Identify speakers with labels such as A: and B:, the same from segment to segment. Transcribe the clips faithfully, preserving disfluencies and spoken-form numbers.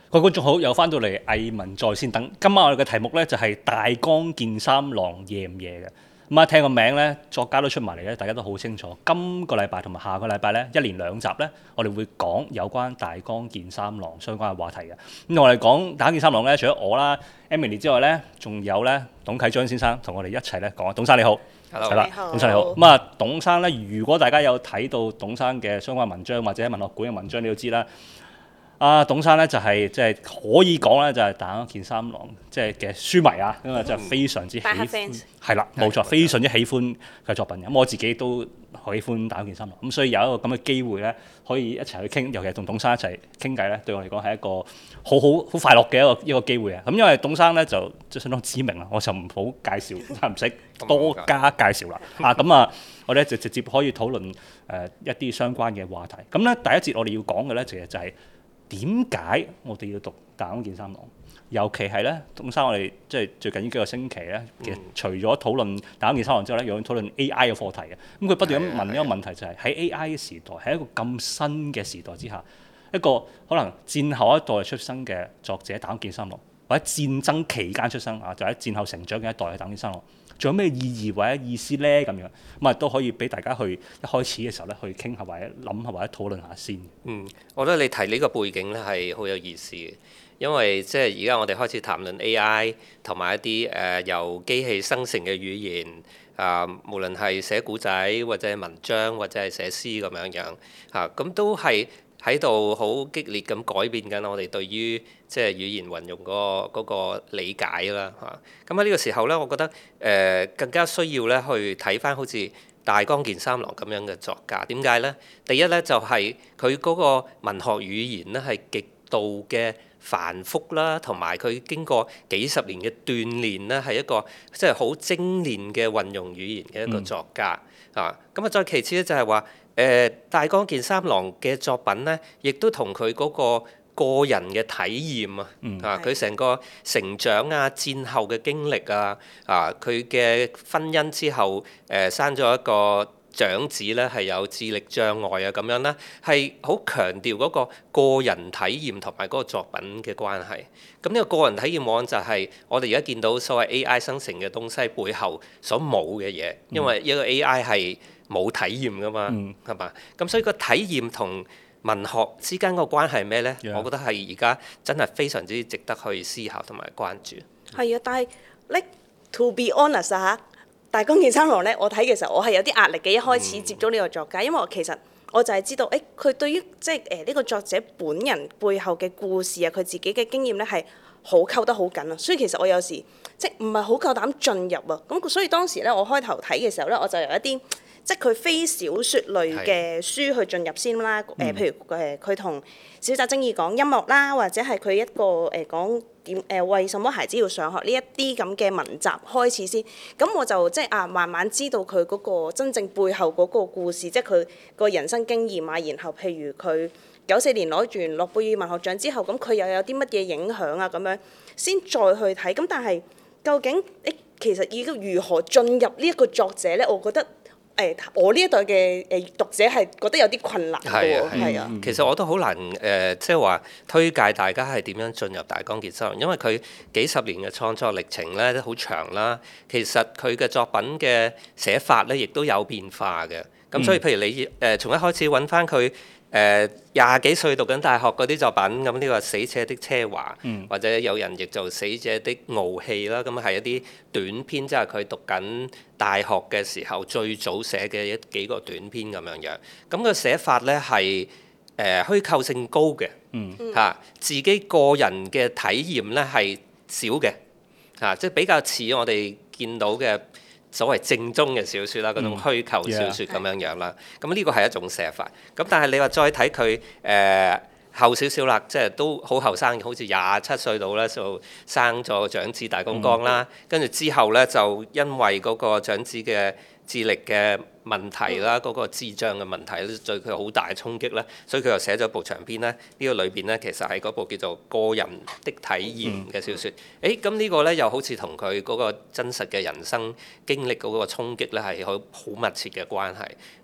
A: 各位觀眾好，又翻到嚟藝文在線等。今晚我哋嘅題目咧就係、是、大江健三郎夜唔夜嘅。咁啊，聽個名咧，作家都出埋嚟咧，大家都好清楚。今個禮拜同埋下個禮拜咧，一連兩集咧，我哋會講有關大江健三郎相關嘅話題嘅。咁同我哋講大江健三郎咧，除咗我啦、Emily 之外咧，仲有咧董啟章先生同我哋一齊咧講。董生你好，係啦，董生你好。咁啊，董生咧，如果大家有睇到董生嘅相關文章或者文學館嘅文章，你都知啦。啊，董生咧就係即係可以講咧，就係大江健三郎即係嘅書迷啊，咁啊就非常之喜歡，係啦，冇錯，非常之喜歡佢嘅作品。咁我自己都好喜歡大江健三郎，咁所以有一個咁嘅機會咧，可以一齊去傾，尤其係同董生一齊傾偈咧，對我嚟講係一個好好好快樂嘅一個一個機會啊！咁因為董生咧就即係相當知名啦，我就唔好介紹，唔使多加介紹啦。啊，咁啊，我哋就直接可以討論誒、呃、一啲相關嘅話題。咁咧第一節我哋要講嘅咧，其實就係、是。點解我哋要讀大江健三郎？尤其係咧，董生我哋即係最近呢幾個星期咧，其實除咗討論大江健三郎之後咧，又要討論 A I 嘅課題嘅。咁佢不斷咁問一個問題，就係喺 A I 嘅時代，喺一個咁新嘅時代之下，一個可能戰後一代出生嘅作者大江健三郎，或者戰爭期間出生啊，就喺戰後成長嘅一代嘅大江健三郎，仲有咩意義或者意思咧？咁樣咁啊都可以俾大家去一開始嘅時候咧，去傾下或者諗下或者討論下先。
B: 嗯，我覺得你提呢個背景咧係好有意思嘅，因為即係而家我哋開始談論 A I 同埋一啲誒、呃、由機器生成嘅語言啊、呃，無論係寫古仔或者文章或者係寫詩咁樣樣嚇，咁、啊、都係喺度好激烈咁改變緊我哋對於即係語言運用嗰、嗰個嗰個理解啦嚇。咁喺呢個時候咧，我覺得誒、呃、更加需要咧去睇返好似大江健三郎咁樣嘅作家。點解咧？第一咧就係佢嗰個文學語言咧係極度嘅繁複啦，同埋佢經過幾十年嘅鍛鍊咧，係一個即係好精煉嘅運用語言嘅一個作家、嗯、啊。咁啊，再其次咧就係話誒大江健三郎嘅作品咧，亦都同佢嗰個個人嘅體驗啊，嗯、啊佢成個成長啊、戰後嘅經歷啊、啊佢嘅婚姻之後誒、呃、生咗一個長子咧，係有智力障礙啊咁樣啦，係好強調嗰個個人體驗同埋嗰個作品嘅關係。咁呢個個人體驗往往就係我哋而家見到所謂 A I 生成嘅東西背後所冇嘅嘢，因為一個 A I 係冇體驗噶嘛，係嘛、嗯？咁所以個體驗同文學之間個關係係咩呢？Yeah. 我覺得係而家真係非常之值得去思考同埋關注。
C: 係啊，但係 like to be honest 啊嚇，大江健三郎咧，我睇嘅時候我係有啲壓力嘅。一開始接觸呢個作家，嗯、因為我其實我就係知道，誒佢對於即係誒呢個作者本人背後嘅故事啊，佢自己嘅經驗咧係好溝得好緊啊。所以其實我有時即係唔係好夠膽進入啊。咁所以當時咧，我開頭睇嘅時候咧，我就有一啲。即係佢非小説類嘅書去進入先啦，誒、呃，譬如誒佢同小澤征爾講音樂啦，或者係佢一個誒、呃、講點誒、呃、為什麼孩子要上學呢一啲咁嘅文集開始先，咁我就即係啊慢慢知道佢嗰個真正背後嗰個故事，即係佢個人生經驗啊，然後譬如佢九四年攞完諾貝爾文學獎之後，咁佢又有啲乜嘢影響啊咁樣，先再去睇。咁但係究竟誒、欸、其實要如何進入呢一個作者咧？我覺得。誒，我呢一代嘅誒讀者係覺得有啲困難嘅喎，係啊。
B: 其實我都好難誒，即係話推介大家係點樣進入大江健三郎，因為佢幾十年嘅創作歷程咧都好長啦。其實佢嘅作品嘅寫法咧，亦都有變化嘅。咁所以譬如你誒從一開始揾翻佢誒廿幾歲讀緊大學嗰啲作品，咁呢個《死者的奢華》，嗯、或者有人譯做《死者的傲氣》啦，咁係一啲短篇，即係佢讀緊大學嘅時候最早寫嘅一幾個短篇咁樣樣。咁個寫法咧係誒虛構性高嘅，嚇、嗯啊、自己個人嘅體驗咧係少嘅，嚇、啊、即係比較似我哋見到嘅。所謂正宗嘅小説啦，嗰種虛構小説咁樣樣啦，咁呢個係一種寫法。咁但係你話再睇佢誒後少少啦，即係都好後生，好似廿七歲到咧就生咗長子大公江啦。跟住、嗯、之後咧就因為嗰個長子嘅智力嘅問題啦，嗰、嗯、個智障嘅問題咧對佢好大嘅衝擊啦，所以佢又寫咗部長篇咧。呢、這個裏邊咧其實係嗰部叫做《個人的體驗》嘅小説。誒咁、嗯、呢個咧又好似同佢嗰個真實嘅人生經歷嗰個衝擊咧係好好密切嘅關係。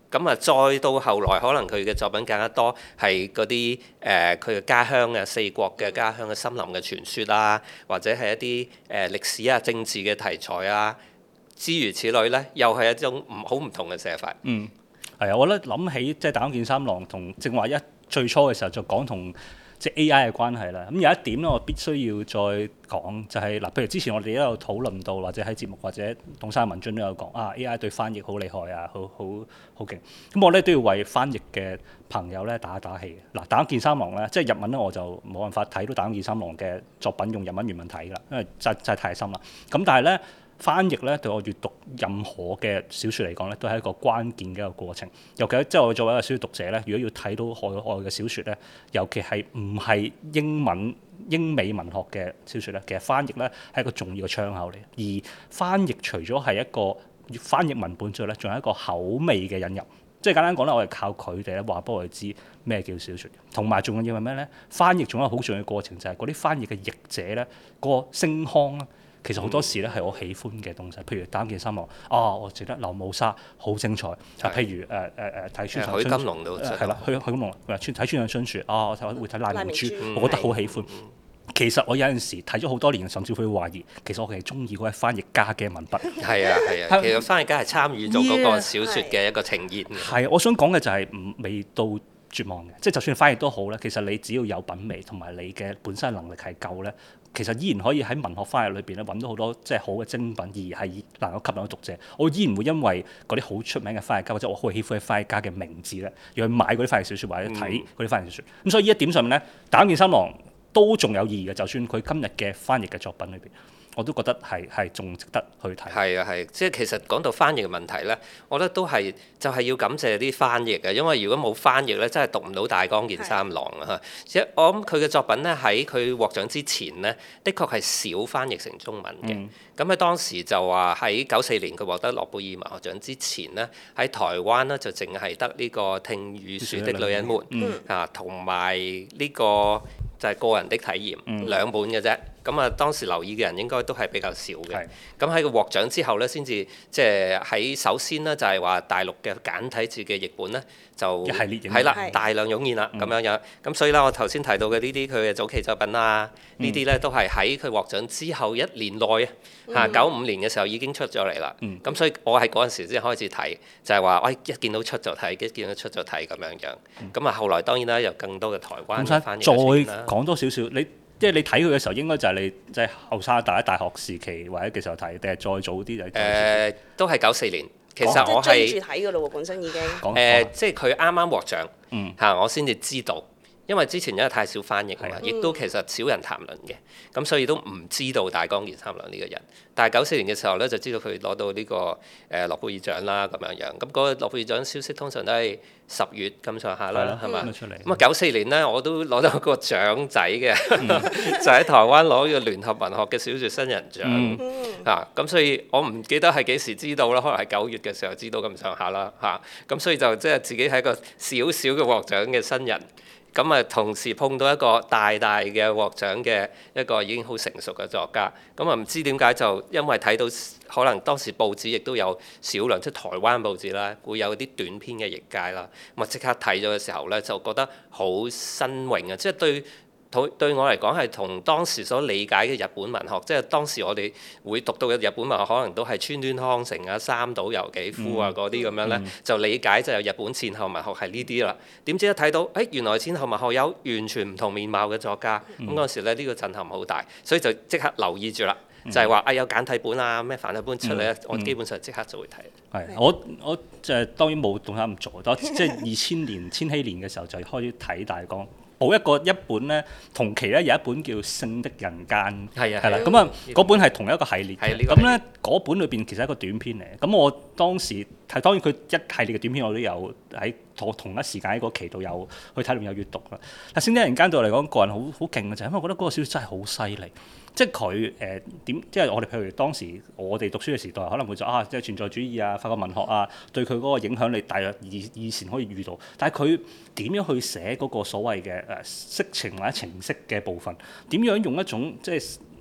B: 咁啊，再到後來，可能佢嘅作品更加多係嗰啲誒佢嘅家鄉啊、四國嘅家鄉嘅森林嘅傳說啊，或者係一啲誒、呃、歷史啊、政治嘅題材啊，諸如此類咧，又係一種唔好唔同嘅寫法。
A: 嗯，係啊，我覺得諗起即係大江健三郎同正話一最初嘅時候就講同即係 A I 嘅關係啦。咁有一點咧，我必須要再講就係、是、嗱，譬如之前我哋都有討論到，或者喺節目或者董生文進都有講啊 A I 對翻譯好厲害啊，好好好勁。咁我咧都要為翻譯嘅朋友咧打一打氣嘅。嗱，大江健三郎咧，即係日文咧我就冇辦法睇到大江健三郎嘅作品用日文原文睇㗎啦，因為真真係太深啦。咁但係咧。翻譯咧對我閱讀任何嘅小説嚟講咧，都係一個關鍵嘅一個過程。尤其即係我作為一個小説讀者咧，如果要睇到海外嘅小説咧，尤其係唔係英文英美文學嘅小説咧，其實翻譯咧係一個重要嘅窗口嚟。而翻譯除咗係一個翻譯文本之外咧，仲係一個口味嘅引入。即係簡單講咧，我係靠佢哋咧話俾我哋知咩叫小説，同埋仲要係咩咧？翻譯仲有好重要嘅過程，就係嗰啲翻譯嘅譯者咧，嗰個聲腔啦。其實好多時咧係我喜歡嘅東西，譬如大江健三郎啊，我覺得流母沙好精彩。啊，譬如誒誒誒睇村上春樹，
B: 許金龍都
A: 係啦，許許金龍睇村上春樹啊，我睇會睇賴明珠，
C: 嗯、
A: 我覺得好喜歡。其實我有陣時睇咗好多年，甚至會懷疑，其實我係中意嗰位翻譯家嘅文筆。
B: 係啊係啊，其實翻譯家係參與咗嗰個小説嘅一個呈現。
A: 係，我想講嘅就係唔未到絕望嘅，即係就算翻譯都好咧，其實你只要有品味同埋你嘅本身能力係夠咧。其實依然可以喺文學翻譯裏邊咧揾到好多即係好嘅精品，而係能夠吸引到讀者。我依然會因為嗰啲好出名嘅翻譯家或者我好喜歡嘅翻譯家嘅名字咧，而去買嗰啲翻譯小説或者睇嗰啲翻譯小説。咁、嗯、所以呢一點上面咧，大江健三郎都仲有意義嘅。就算佢今日嘅翻譯嘅作品裏邊，我都覺得係係仲值得去睇。係
B: 啊係，即係其實講到翻譯嘅問題咧，我覺得都係就係、是、要感謝啲翻譯嘅，因為如果冇翻譯咧，真係讀唔到大江健三郎啊！即係我諗佢嘅作品咧，喺佢獲獎之前咧，的確係少翻譯成中文嘅。咁喺、嗯、當時就話喺九四年佢獲得諾貝爾文學獎之前咧，喺台灣咧就淨係得呢個聽雨樹的女人們、嗯、啊，同埋呢個就係個人的體驗、嗯、兩本嘅啫。咁啊，當時留意嘅人應該都係比較少嘅。咁喺佢獲獎之後咧，先至即係喺首先咧，就係話大陸嘅簡體字嘅譯本咧，就係啦，大量湧現啦，咁樣樣。咁所以咧，我頭先提到嘅呢啲佢嘅早期作品啊，呢啲咧都係喺佢獲獎之後一年內啊，嚇九五年嘅時候已經出咗嚟啦。咁所以我喺嗰陣時先開始睇，就係話，喂，一見到出就睇，一見到出就睇咁樣樣。咁啊，後來當然啦，有更多嘅台灣嘅翻譯出現啦。
A: 再講多少少你。即係你睇佢嘅時候，應該就係你即係後生大一大學時期或者嘅時候睇，定係再早啲就？誒、
B: 呃，都係九四年。其實我係
C: 追住睇㗎咯喎，本身已經。誒、
B: 呃，即係佢啱啱獲獎，嚇、
A: 嗯
B: 啊、我先至知道。因為之前因為太少翻譯啦，亦都其實少人談論嘅，咁所以都唔知道大江健三郎呢個人。但係九四年嘅時候咧，就知道佢攞到呢個誒諾貝爾獎啦，咁樣樣。咁嗰個諾貝爾獎消息通常都係十月咁上下啦，係嘛？咁啊九四年咧，我都攞到個獎仔嘅，嗯、就喺台灣攞呢個聯合文學嘅小説新人獎、嗯、啊。咁所以我唔記得係幾時知道啦，可能係九月嘅時候知道咁上下啦，嚇。咁所以就即係自己係一個小小嘅獲獎嘅新人。咁啊，同時碰到一個大大嘅獲獎嘅一個已經好成熟嘅作家，咁啊唔知點解就因為睇到可能當時報紙亦都有少量即係台灣報紙啦，會有啲短篇嘅譯介啦，咁啊即刻睇咗嘅時候咧，就覺得好新穎啊！即係對對我嚟講係同當時所理解嘅日本文學，即係當時我哋會讀到嘅日本文學，可能都係川端康成啊、三島由紀夫啊嗰啲咁樣咧，嗯、就理解就係日本戰後文學係呢啲啦。點知一睇到，誒、哎、原來戰後文學有完全唔同面貌嘅作家，咁嗰陣時咧呢、呢個震撼好大，所以就即刻留意住啦。就係話啊有簡體本啊咩繁體本出嚟咧，嗯、我基本上即刻就會睇。
A: 係我我就係當然冇動下咁做，但即係二千年千禧年嘅時候就開始睇大江。補一個一本咧，同期咧有一本叫《性的人間》，
B: 係啊，
A: 係啦，咁啊嗰本係同一個系列嘅，咁咧嗰本裏邊其實係一個短篇嚟，咁我當時係當然佢一系列嘅短篇我都有喺同同一時間喺個期度有去睇同有閱讀啦。但《性的人間》對我嚟講個人好好勁嘅就係因為我覺得嗰個小説真係好犀利，即係佢誒點，即係我哋譬如當時我哋讀書嘅時代可能會就啊即係存在主義啊、法國文學啊，對佢嗰個影響你大約以以前可以遇到，但係佢點樣去寫嗰個所謂嘅誒色情或者情色嘅部分，點樣用一種即係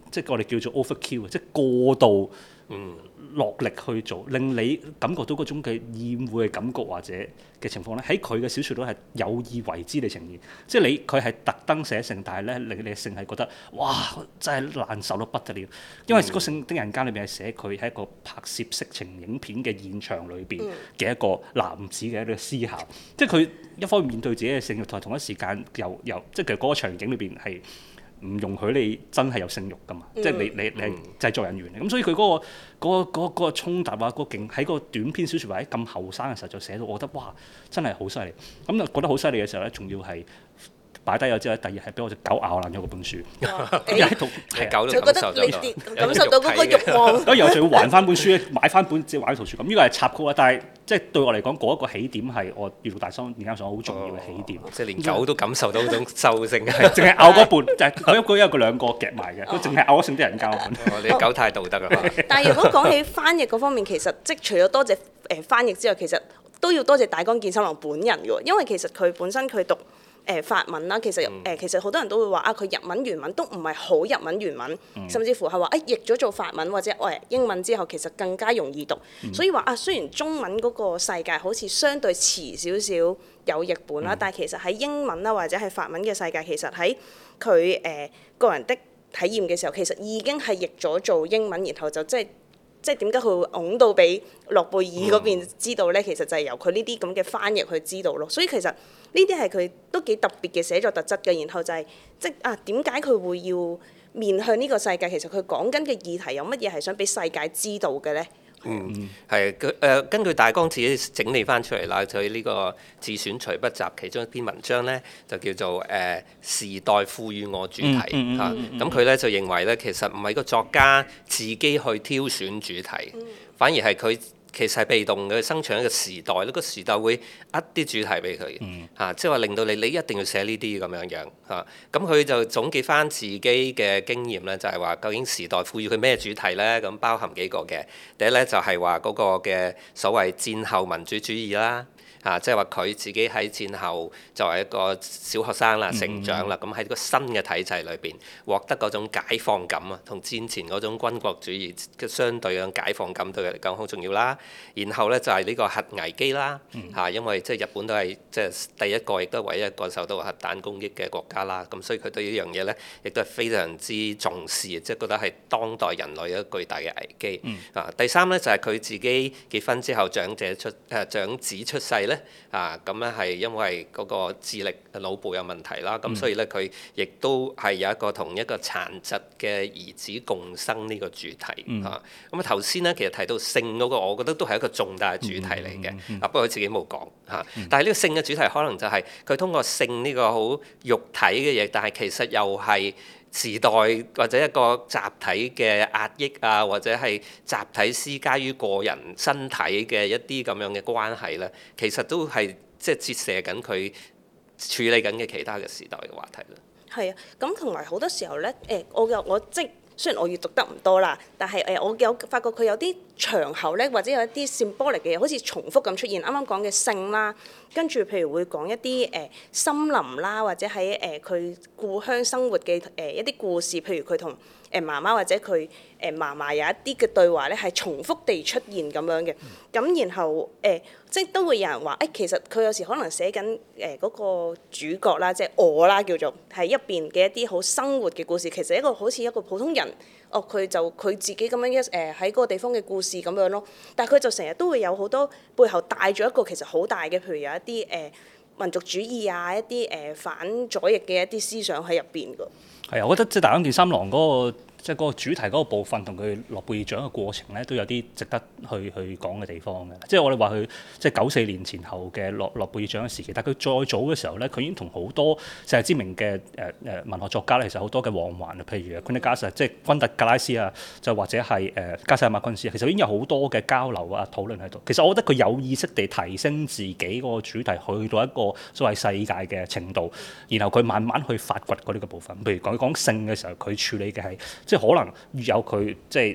A: 即係我哋叫做 overkill，即係過度
B: 嗯
A: 落力去做，令你感覺到嗰種嘅厭惡嘅感覺或者嘅情況咧，喺佢嘅小説度係有意為之地呈現。即係你佢係特登寫性，但係咧令你嘅性係覺得哇真係難受到不得了，因為個性的人間裏邊係寫佢喺一個拍攝色情影片嘅現場裏邊嘅一個男子嘅一個思考。即係佢一方面面對自己嘅性慾，同同一時間又又即係其實嗰個場景裏邊係唔容許你真係有性慾㗎嘛，嗯、即係你你你係製作人員嚟，咁所以佢嗰、嗰個嗰、嗰個嗰、嗰個衝突啊，嗰、嗰個勁喺個短篇小説或者咁後生嘅時候就寫到，我覺得哇真係好犀利，咁就覺得好犀利嘅時候咧，仲要係擺低咗之後，第二日係俾我隻狗咬爛咗嗰本書，又喺度
B: 狗
C: 就覺得你感受到嗰個慾望，
A: 咁然後就要還翻本書，買翻本即係玩圖書咁，呢個係插曲啊，但係即係對我嚟講，嗰、那、一個起點係我閱讀大綱研究所好重要嘅起點，
B: 哦、即係連狗都感受到嗰種獸性，
A: 係淨係咬嗰半，就係佢一個一個兩個夾埋嘅，佢淨係咬咗性啲人交本。
B: 哦、你狗太道德啦！
C: 但係如果講起翻譯嗰方面，其實即係除咗多謝誒翻譯之外，其實都要多謝大江健三郎本人嘅喎，因為其實佢本身佢讀。誒、呃、法文啦，其實誒、呃、其實好多人都會話啊，佢日文原文都唔係好日文原文，嗯、甚至乎係話誒譯咗做法文或者誒、呃、英文之後，其實更加容易讀。嗯、所以話啊，雖然中文嗰個世界好似相對遲少少有譯本啦，嗯、但係其實喺英文啦或者係法文嘅世界，其實喺佢誒個人的體驗嘅時候，其實已經係譯咗做英文，然後就即係。即係點解佢會拱到俾諾貝爾嗰邊知道咧？嗯、其實就係由佢呢啲咁嘅翻譯去知道咯。所以其實呢啲係佢都幾特別嘅寫作特質嘅。然後就係、是、即啊點解佢會要面向呢個世界？其實佢講緊嘅議題有乜嘢係想俾世界知道嘅咧？
B: 嗯，係佢誒根據大江自己整理翻出嚟啦，就係呢個自選隨筆集其中一篇文章咧，就叫做誒、呃、時代賦予我主題嚇。咁佢咧就認為咧，其實唔係個作家自己去挑選主題，嗯、反而係佢。其實係被動嘅，生存一個時代，呢、這個時代會呃啲主題俾佢嘅嚇，即係話令到你你一定要寫呢啲咁樣樣嚇。咁、啊、佢就總結翻自己嘅經驗咧，就係、是、話究竟時代賦予佢咩主題咧？咁包含幾個嘅。第一咧就係話嗰個嘅所謂戰後民主主義啦。啊，即係話佢自己喺戰後作為一個小學生啦，成長啦，咁喺、嗯、個新嘅體制裏邊獲得嗰種解放感啊，同戰前嗰種軍國主義嘅相對嘅解放感對佢嚟講好重要啦。然後咧就係、是、呢個核危機啦，嚇、嗯啊，因為即係日本都係即係第一個亦都係唯一一個受到核彈攻擊嘅國家啦。咁所以佢對呢樣嘢咧，亦都係非常之重視，即係覺得係當代人類一個巨大嘅危機。嗯、啊，第三咧就係、是、佢自己結婚之後長者出誒、啊、長子出世咧。啊，咁咧係因為嗰個智力腦部有問題啦，咁、嗯、所以咧佢亦都係有一個同一個殘疾嘅兒子共生呢個主題嚇。咁、嗯、啊頭先咧其實提到性嗰個，我覺得都係一個重大嘅主題嚟嘅。嗯嗯嗯、啊不過佢自己冇講嚇，嗯、但係呢個性嘅主題可能就係佢通過性呢個好肉體嘅嘢，但係其實又係。時代或者一個集體嘅壓抑啊，或者係集體施加於個人身體嘅一啲咁樣嘅關係咧，其實都係即係折射緊佢處理緊嘅其他嘅時代嘅話題啦。係啊，
C: 咁同埋好多時候咧，誒、欸，我有我即雖然我閱讀得唔多啦，但係誒、呃，我有發覺佢有啲場口咧，或者有一啲 symbolic 嘅嘢，好似重複咁出現。啱啱講嘅性啦，跟住譬如會講一啲誒、呃、森林啦，或者喺誒佢故鄉生活嘅誒、呃、一啲故事，譬如佢同誒媽媽或者佢誒嫲嫲有一啲嘅對話咧，係重複地出現咁樣嘅。咁、嗯、然後誒、呃，即係都會有人話誒、欸，其實佢有時可能寫緊誒嗰個主角啦，即係我啦，叫做係一邊嘅一啲好生活嘅故事。其實一個好似一個普通人，哦，佢就佢自己咁樣一誒喺嗰個地方嘅故事咁樣咯。但係佢就成日都會有好多背後帶咗一個其實好大嘅，譬如有一啲誒、呃、民族主義啊，一啲誒、呃、反左翼嘅一啲思想喺入邊㗎。
A: 係啊，我覺得即係大江健三郎嗰個即係嗰個主題嗰個部分，同佢諾貝爾獎嘅過程咧，都有啲值得去去講嘅地方嘅。即係我哋話佢即係九四年前後嘅諾諾貝爾獎嘅時期，但係佢再早嘅時候咧，佢已經同好多世界知名嘅誒誒文學作家咧，其實好多嘅往還啊，譬如 Quentin 即係昆特格拉斯啊，就或者係誒加西亞馬昆斯，其實已經有好多嘅交流啊討論喺度。其實我覺得佢有意識地提升自己嗰個主題去到一個所謂世界嘅程度，然後佢慢慢去發掘嗰啲嘅部分。譬如講講性嘅時候，佢處理嘅係即係可能越有佢即係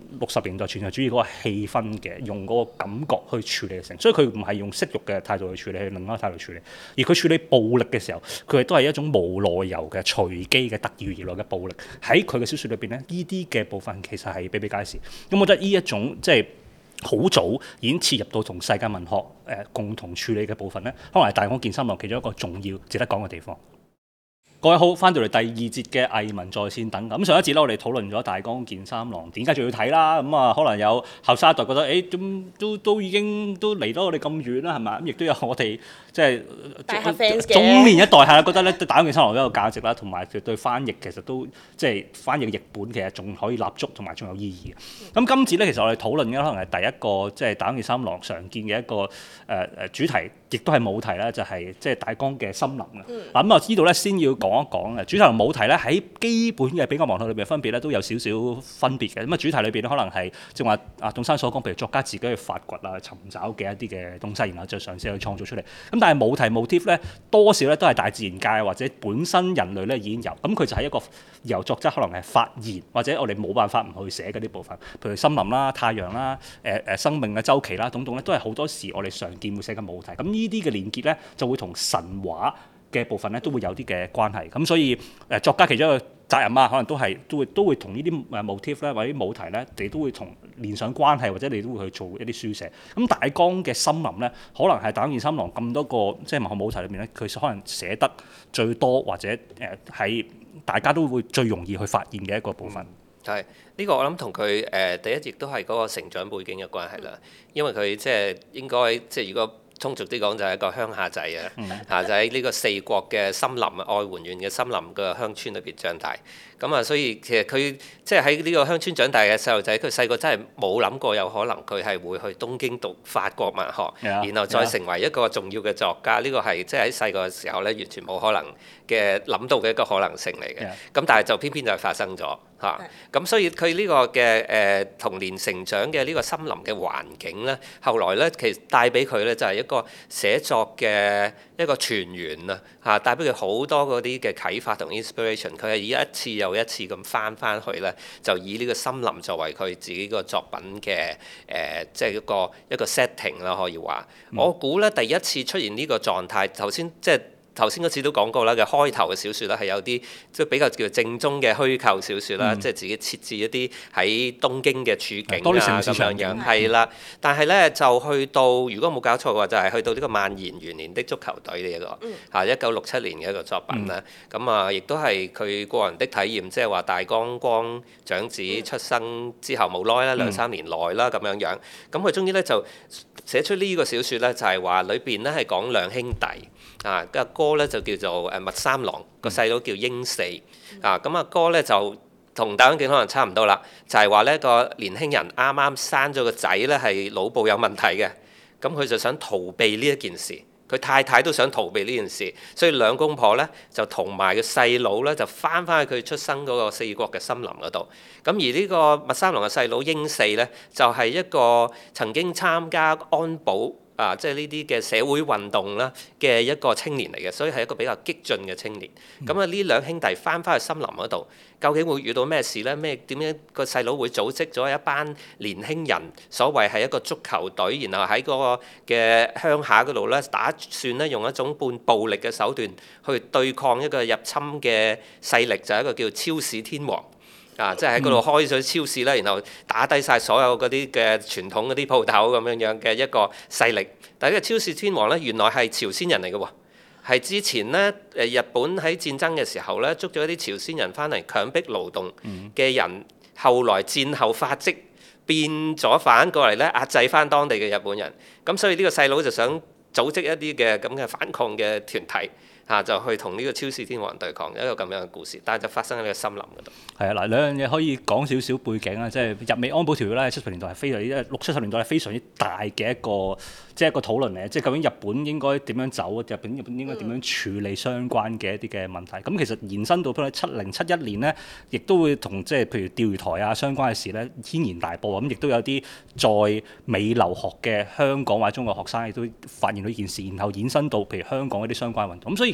A: 六十年代存在主義嗰個氣氛嘅，用嗰個感覺去處理成，所以佢唔係用色欲嘅態度去處理，係另一個態度去處理。而佢處理暴力嘅時候，佢亦都係一種無內由嘅隨機嘅突如而來嘅暴力。喺佢嘅小説裏邊咧，呢啲嘅部分其實係比比皆是。咁我覺得呢一種即係好早已經切入到同世界文學誒、呃、共同處理嘅部分咧，可能係大江健三郎其中一個重要值得講嘅地方。各位好，翻到嚟第二節嘅藝文在線等。咁上一節咧，我哋討論咗大江健三郎點解仲要睇啦。咁啊，可能有後生一代覺得，誒咁都都已經都離咗我哋咁遠啦，係咪？咁亦都有我哋即係中年一代係啦，覺得咧大江健三郎都有價值啦，同埋佢對翻譯其實都即係翻譯嘅譯本其實仲可以立足，同埋仲有意義嘅。咁今次咧，其實我哋討論嘅可能係第一個即係大江健三郎常見嘅一個誒誒、呃、主題，亦都係母題咧，就係即係大江嘅森林啊。嗱咁啊，知道咧先要講。講一講嘅主題同母題咧，喺基本嘅比較文學裏邊分別咧都有少少分別嘅。咁啊，主題裏邊咧可能係正話阿董生所講，譬如作家自己去發掘啊、尋找嘅一啲嘅東西，然後就嘗試去創造出嚟。咁但係母題 motif 咧，多少咧都係大自然界或者本身人類咧已經有。咁佢就係一個由作者可能係發現或者我哋冇辦法唔去寫嗰啲部分，譬如森林啦、太陽啦、誒誒生命嘅周期啦，等等咧，都係好多時我哋常見會寫嘅母題。咁呢啲嘅連結咧，就會同神話嘅部分咧都會有啲嘅關係，咁所以誒作家其中一個責任啊，可能都係都會都會同呢啲誒 motif 咧或者母題咧，你都會同連上關係，或者你都會去做一啲書寫。咁大江嘅森林咧，可能係大江健三郎咁多個即係文學母題裏面咧，佢可能寫得最多或者誒喺、呃、大家都會最容易去發現嘅一個部分。
B: 係呢、呢個我諗同佢誒第一亦都係嗰個成長背景嘅關係啦，因為佢即係應該即係如果。通俗啲講就係一個鄉下仔啊，嚇、嗯、就喺呢個四國嘅森林啊，愛媛縣嘅森林嘅鄉村裏邊長大。咁啊，所以其實佢即係喺呢個鄉村長大嘅細路仔，佢細個真係冇諗過有可能佢係會去東京讀法國文學，嗯、然後再成為一個重要嘅作家。呢、嗯、個係即係喺細個嘅時候咧，完全冇可能嘅諗到嘅一個可能性嚟嘅。咁、嗯、但係就偏偏就係發生咗嚇。咁、嗯、所以佢呢個嘅誒、呃、童年成長嘅呢個森林嘅環境咧，後來咧其實帶俾佢咧就係一個寫作嘅一個泉源啊嚇，帶俾佢好多嗰啲嘅啟發同 inspiration。佢係以一次又一次咁翻翻去咧，就以呢個森林作為佢自己個作品嘅誒、呃，即係一個一個 setting 啦，可以話。嗯、我估咧第一次出現呢個狀態，頭先即係。頭先嗰次都講過啦，嘅開頭嘅小説咧係有啲即係比較叫正宗嘅虛構小説啦，嗯、即係自己設置一啲喺東京嘅處境啊咁樣樣，係啦。但係咧就去到如果冇搞錯嘅話，就係、是、去到呢個萬延元年的足球隊呢、這、一個嚇一九六七年嘅一個作品啦。咁、嗯、啊，亦都係佢個人的體驗，即係話大江光長子出生之後冇耐啦，兩三年內啦咁樣樣。咁佢終於咧就寫出呢個小説咧，就係話裏邊咧係講兩兄弟啊，個哥咧就叫做誒麥三郎，個細佬叫英四啊。咁阿哥咧就同大江健可能差唔多啦，就係話呢個年輕人啱啱生咗個仔咧係腦部有問題嘅，咁佢就想逃避呢一件事，佢太太都想逃避呢件事，所以兩公婆咧就同埋個細佬咧就翻返去佢出生嗰個四國嘅森林嗰度。咁而呢個麥三郎嘅細佬英四咧就係一個曾經參加安保。啊，即係呢啲嘅社會運動啦嘅一個青年嚟嘅，所以係一個比較激進嘅青年。咁啊、嗯，呢兩兄弟翻返去森林嗰度，究竟會遇到咩事呢？咩點樣個細佬會組織咗一班年輕人，所謂係一個足球隊，然後喺嗰個嘅鄉下嗰度咧，打算咧用一種半暴力嘅手段去對抗一個入侵嘅勢力，就係、是、一個叫超市天王。啊！即係喺嗰度開咗超市啦，然後打低晒所有嗰啲嘅傳統嗰啲鋪頭咁樣樣嘅一個勢力。但係呢個超市天王咧，原來係朝鮮人嚟嘅喎，係之前咧誒日本喺戰爭嘅時候咧捉咗一啲朝鮮人翻嚟強迫勞動嘅人，嗯、後來戰後發跡變咗反過嚟咧壓制翻當地嘅日本人。咁所以呢個細佬就想組織一啲嘅咁嘅反抗嘅團體。啊！就去同呢個超市天王對抗，一個咁樣嘅故事，但係就發生喺呢個森林嗰度。係啊，嗱兩樣嘢可以講少少背景啊，即係日美安保條約咧，七十年代係非常之六七十年代係非常之大嘅一個，即係一個討論嚟。即係究竟日本應該點樣走？日本日本應該點樣處理相關嘅一啲嘅問題？咁、嗯、其實延伸到譬如七零七一年呢，亦都會同即係譬如釣魚台啊相關嘅事咧軒然大波。咁亦都有啲在美留學嘅香港或者中國學生亦都發現到呢件事，然後延伸到譬如香港一啲相關運動。咁所以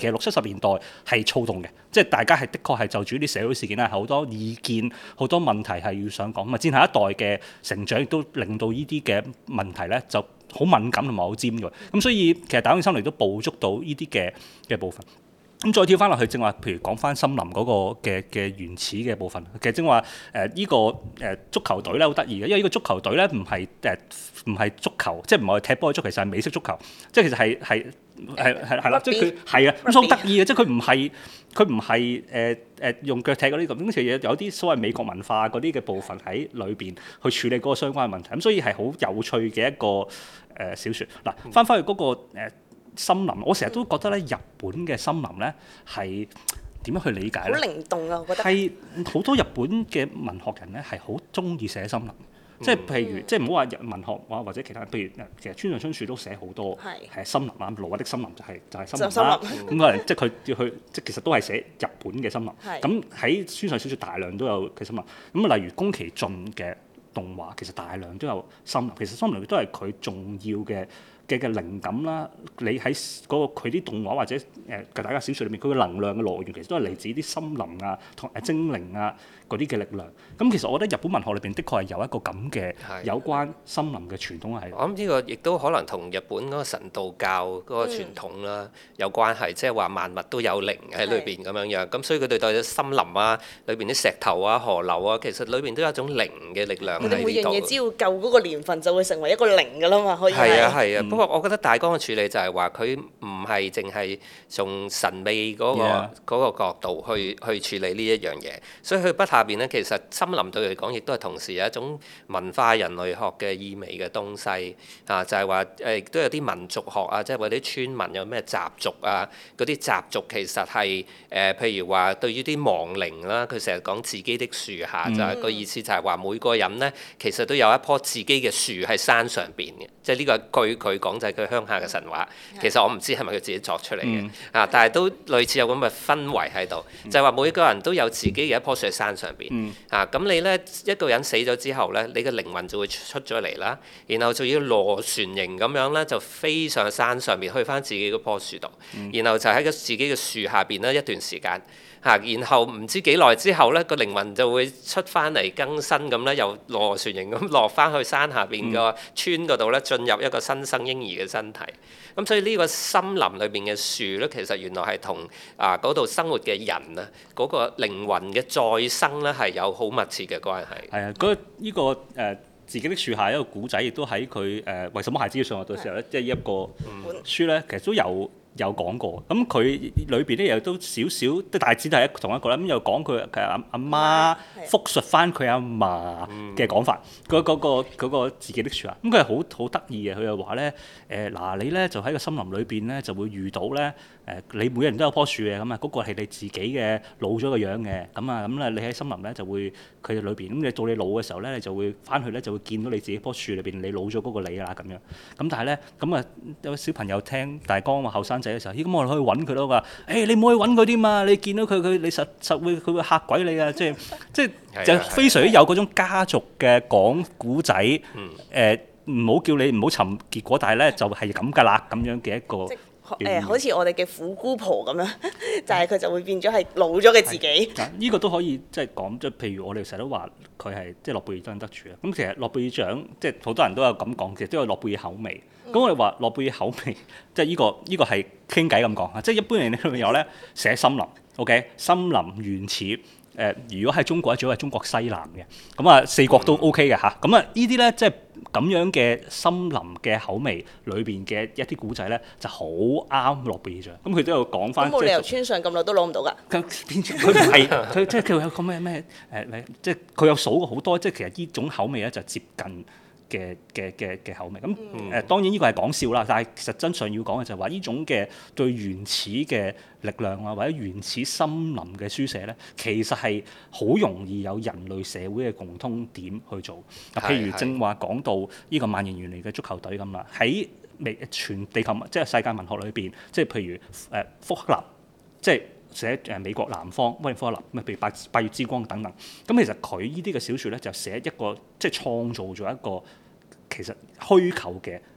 A: 其實六七十年代係躁動嘅，即係大家係的確係就住啲社會事件係好多意見、好多問題係要想講。咁啊，戰下一代嘅成長亦都令到呢啲嘅問題咧就好敏感同埋好尖鋭。咁所以其實大江健三郎都捕捉到呢啲嘅嘅部分。咁再跳翻落去，正話譬如講翻森林嗰個嘅嘅原始嘅部分，其實正話誒呢個誒、呃、足球隊咧好得意嘅，因為呢個足球隊咧唔係誒唔係足球，即係唔係踢波嘅足球，其實係美式足球，即係其實係係係係係啦，即係佢係啊，咁所以好得意嘅，即係佢唔係佢唔係誒誒用腳踢嗰啲咁，咁其實有啲所謂美國文化嗰啲嘅部分喺裏邊去處理嗰個相關嘅問題，咁所以係好有趣嘅一個誒、呃、小説。嗱，翻返去嗰、嗰個、呃森林，我成日都覺得咧，日本嘅森林咧係點樣去理解咧？
C: 好靈動啊！我覺得
A: 係好多日本嘅文學人咧係好中意寫森林，嗯、即係譬如即係唔好話日文學或或者其他，譬如其實村上春樹都寫好多係森林啊，挪威的森林就係、是、就係、是、森林啦。咁可能即係佢要去即係其實都係寫日本嘅森林。咁喺村上春樹大量都有嘅森林。咁例如宮崎駿嘅動畫，其實大量都有森林。其實森林都係佢重要嘅。嘅嘅靈感啦，你喺嗰個佢啲動畫或者誒大家小説裏面，佢嘅能量嘅來源其實都係嚟自啲森林啊、同誒精靈啊嗰啲嘅力量。咁其實我覺得日本文學裏邊的確係有一個咁嘅有關森林嘅傳統係。
B: 我諗呢個亦都可能同日本嗰個神道教嗰個傳統啦、嗯、有關係，即係話萬物都有靈喺裏邊咁樣樣。咁所以佢哋對森林啊、裏邊啲石頭啊、河流啊，其實裏邊都有一種靈嘅力量喺呢度。
C: 佢哋每樣嘢只要夠嗰個年份，就會成為一個靈㗎啦嘛，可以係。
B: 係啊係啊。嗯不過我覺得大江嘅處理就係話佢唔係淨係從神秘嗰、嗰個
A: Yeah.
B: 嗰個角度去去處理呢一樣嘢，所以佢筆下邊咧其實森林對佢嚟講亦都係同時有一種文化人類學嘅意味嘅東西啊，就係話誒都有啲民族學啊，即係話啲村民有咩習俗啊，嗰啲習俗其實係誒、呃、譬如話對於啲亡靈啦，佢成日講自己的樹下，嗯、就係個意思就係話每個人咧其實都有一棵自己嘅樹喺山上邊嘅，即係呢個據佢講就係佢鄉下嘅神話。其實我唔知係咪佢自己作出嚟嘅、嗯、啊，但係都類似有咁嘅氛圍喺度，嗯、就係話每個人都有自己嘅一棵樹喺山上邊、嗯、啊。咁你咧一個人死咗之後咧，你嘅靈魂就會出咗嚟啦，然後就要螺旋形咁樣咧就飛上山上邊去翻自己嗰棵樹度，嗯、然後就喺個自己嘅樹下邊咧一段時間。嚇，然後唔知幾耐之後咧，個靈魂就會出翻嚟更新咁咧，又螺旋形咁落翻去山下邊個村嗰度咧，進入一個新生嬰兒嘅身體。咁所以呢個森林裏邊嘅樹咧，其實原來係同啊嗰度生活嘅人啊，嗰、嗰個靈魂嘅再生咧係有好密切嘅關係。
A: 係啊，嗰、呢、依個誒、呃、自己的樹下一個古仔，亦都喺佢誒為什麼孩子要上學嘅時候咧，即係呢一個書咧，其實都有。有講過，咁佢裏邊咧又都少少，即係大致都係一同一個啦。咁又講佢嘅阿阿媽復述翻佢阿嫲嘅講法，嗰嗰、嗯嗰個嗰、嗰個自己的樹下。咁佢係好好得意嘅，佢又話咧誒嗱，你咧就喺個森林裏邊咧就會遇到咧誒、呃，你每人都有棵樹嘅，咁啊嗰個係你自己嘅老咗嘅樣嘅，咁啊咁咧你喺森林咧就會佢哋裏邊，咁你到你老嘅時候咧，你就會翻去咧就會見到你自己棵樹裏邊你老咗嗰個你啦咁樣。咁但係咧咁啊有小朋友聽大江話後生嘅時候，咦咁我哋可以揾佢咯，話誒你唔好去揾佢啲嘛，你見到佢佢你實實會佢會嚇鬼你啊！即係即係就非常之有嗰種家族嘅講古仔，誒唔好叫你唔好尋結果，但係咧就係咁㗎啦咁樣嘅一個誒、
C: 呃，好似我哋嘅虎姑婆咁樣，就係佢就會變咗係老咗嘅自己。
A: 呢、呢個都可以即係講，即係譬如我哋成日都話佢係即係諾貝爾獎得主啊。咁其實諾貝爾獎即係好多人都有咁講，其實都有諾貝爾口味。咁、嗯、我哋話諾貝爾口味，即係呢、呢個呢、呢個係傾偈咁講啊。即係一般人裏面有咧寫森林 ，OK， 森林原始。誒、呃，如果喺中國咧，主要係中國西南嘅，咁啊四國都 OK 嘅嚇。咁啊呢啲咧，即係咁樣嘅森林嘅口味裏邊嘅一啲古仔咧，就好啱諾貝爾獎。咁佢都有講翻。咁冇理由村上咁耐都攞唔到㗎。佢佢唔係佢即係佢有個咩咩誒即係佢有數過好多，即係其實呢種口味咧就接近嘅嘅嘅嘅口味。咁誒、嗯呃、當然呢個係講笑啦，但係實真上要講嘅就係話呢種嘅對原始嘅力量啊，或者原始森林嘅書寫咧，其實係好容易有人類社會嘅共通點去做。嗱，譬如正話講到呢個萬年原嚟嘅足球隊咁啦，喺未全地球即係世界文學裏邊，即係譬如誒、呃、福克納，即係寫誒美國南方威廉福克納，咩譬如八八月之光等等。咁其實佢呢啲嘅小説咧，就寫一個即係創造咗一個其實虛構嘅